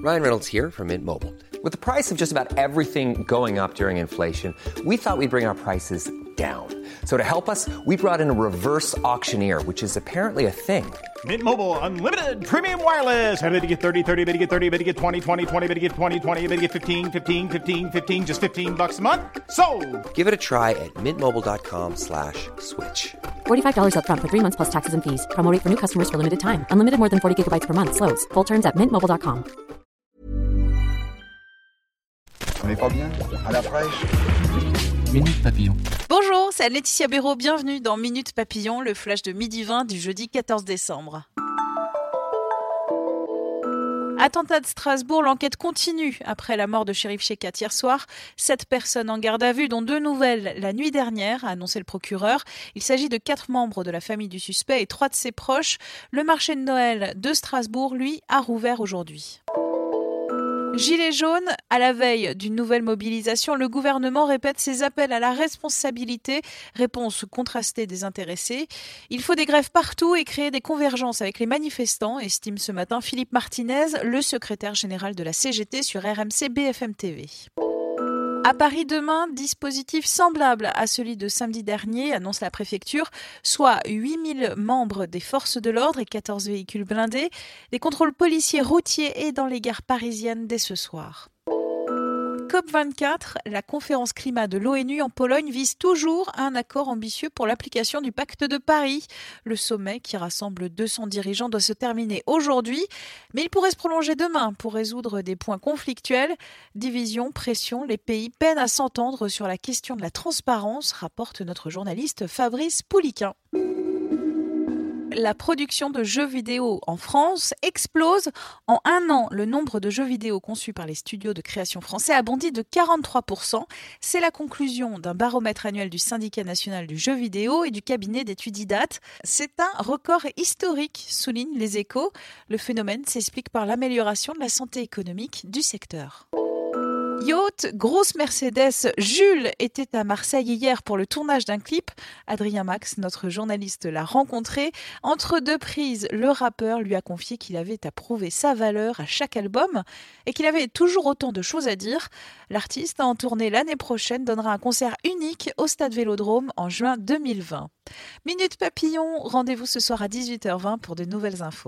Ryan Reynolds here from Mint Mobile. With the price of just about everything going up during inflation, we thought we'd bring our prices down. So to help us, we brought in a reverse auctioneer, which is apparently a thing. Mint Mobile Unlimited Premium Wireless. How to get 30, 30, bit to get 30, bit to get 20, 20, 20, bit to get 20, 20, bit to get 15, 15, 15, 15, just $15 a month? Sold! Give it a try at mintmobile.com/switch. $45 up front for 3 months plus taxes and fees. Promo rate for new customers for limited time. Unlimited more than 40 gigabytes per month. Slows full terms at mintmobile.com. On n'est pas bien? À la fraîche? Minute Papillon. Bonjour, c'est Laetitia Béraud, bienvenue dans Minute Papillon, le flash de midi 20 du jeudi 14 décembre. Attentat de Strasbourg, l'enquête continue après la mort de Cherif Chekhat hier soir. 7 personnes en garde à vue, dont 2 nouvelles la nuit dernière, a annoncé le procureur. Il s'agit de 4 membres de la famille du suspect et 3 de ses proches. Le marché de Noël de Strasbourg, lui, a rouvert aujourd'hui. Gilets jaunes, à la veille d'une nouvelle mobilisation, le gouvernement répète ses appels à la responsabilité. Réponse contrastée des intéressés. Il faut des grèves partout et créer des convergences avec les manifestants, estime ce matin Philippe Martinez, le secrétaire général de la CGT sur RMC BFM TV. À Paris demain, dispositif semblable à celui de samedi dernier, annonce la préfecture, soit 8000 membres des forces de l'ordre et 14 véhicules blindés, des contrôles policiers routiers et dans les gares parisiennes dès ce soir. COP24, la conférence climat de l'ONU en Pologne vise toujours un accord ambitieux pour l'application du pacte de Paris. Le sommet, qui rassemble 200 dirigeants, doit se terminer aujourd'hui, mais il pourrait se prolonger demain pour résoudre des points conflictuels. Division, pression, les pays peinent à s'entendre sur la question de la transparence, rapporte notre journaliste Fabrice Pouliquin. La production de jeux vidéo en France explose. En un an, le nombre de jeux vidéo conçus par les studios de création français a bondi de 43%. C'est la conclusion d'un baromètre annuel du Syndicat national du jeu vidéo et du cabinet d'études IDAT. C'est un record historique, soulignent les Échos. Le phénomène s'explique par l'amélioration de la santé économique du secteur. Yacht, grosse Mercedes, Jules était à Marseille hier pour le tournage d'un clip. Adrien Max, notre journaliste, l'a rencontré. Entre 2 prises, le rappeur lui a confié qu'il avait à prouver sa valeur à chaque album et qu'il avait toujours autant de choses à dire. L'artiste, en tournée l'année prochaine, donnera un concert unique au Stade Vélodrome en juin 2020. Minute Papillon, rendez-vous ce soir à 18h20 pour de nouvelles infos.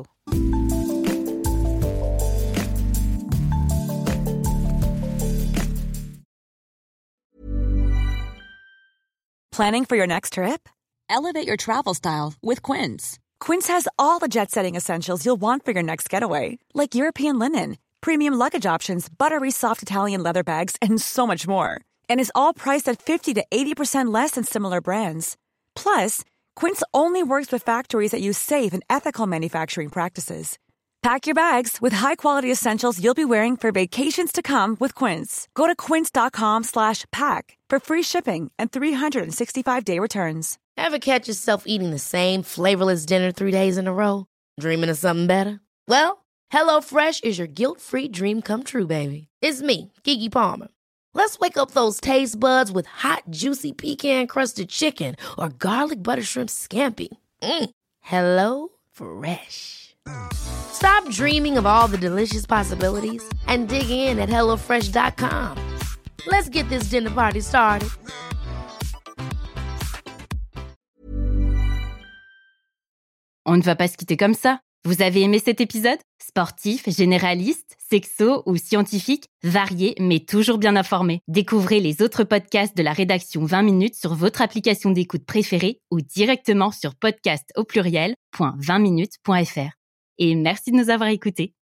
Planning for your next trip? Elevate your travel style with Quince. Quince has all the jet-setting essentials you'll want for your next getaway, like European linen, premium luggage options, buttery soft Italian leather bags, and so much more. And is all priced at 50 to 80% less than similar brands. Plus, Quince only works with factories that use safe and ethical manufacturing practices. Pack your bags with high-quality essentials you'll be wearing for vacations to come with Quince. Go to quince.com/pack for free shipping and 365-day returns. Ever catch yourself eating the same flavorless dinner 3 days in a row? Dreaming of something better? Well, HelloFresh is your guilt-free dream come true, baby. It's me, Keke Palmer. Let's wake up those taste buds with hot, juicy pecan-crusted chicken or garlic butter shrimp scampi. Hello Fresh. Stop dreaming of all the delicious possibilities and dig in at HelloFresh.com. Let's get this dinner party started. On ne va pas se quitter comme ça. Vous avez aimé cet épisode ? Sportif, généraliste, sexo ou scientifique, varié mais toujours bien informé. Découvrez les autres podcasts de la rédaction 20 minutes sur votre application d'écoute préférée ou directement sur podcast au pluriel.20minutes.fr. Et merci de nous avoir écoutés.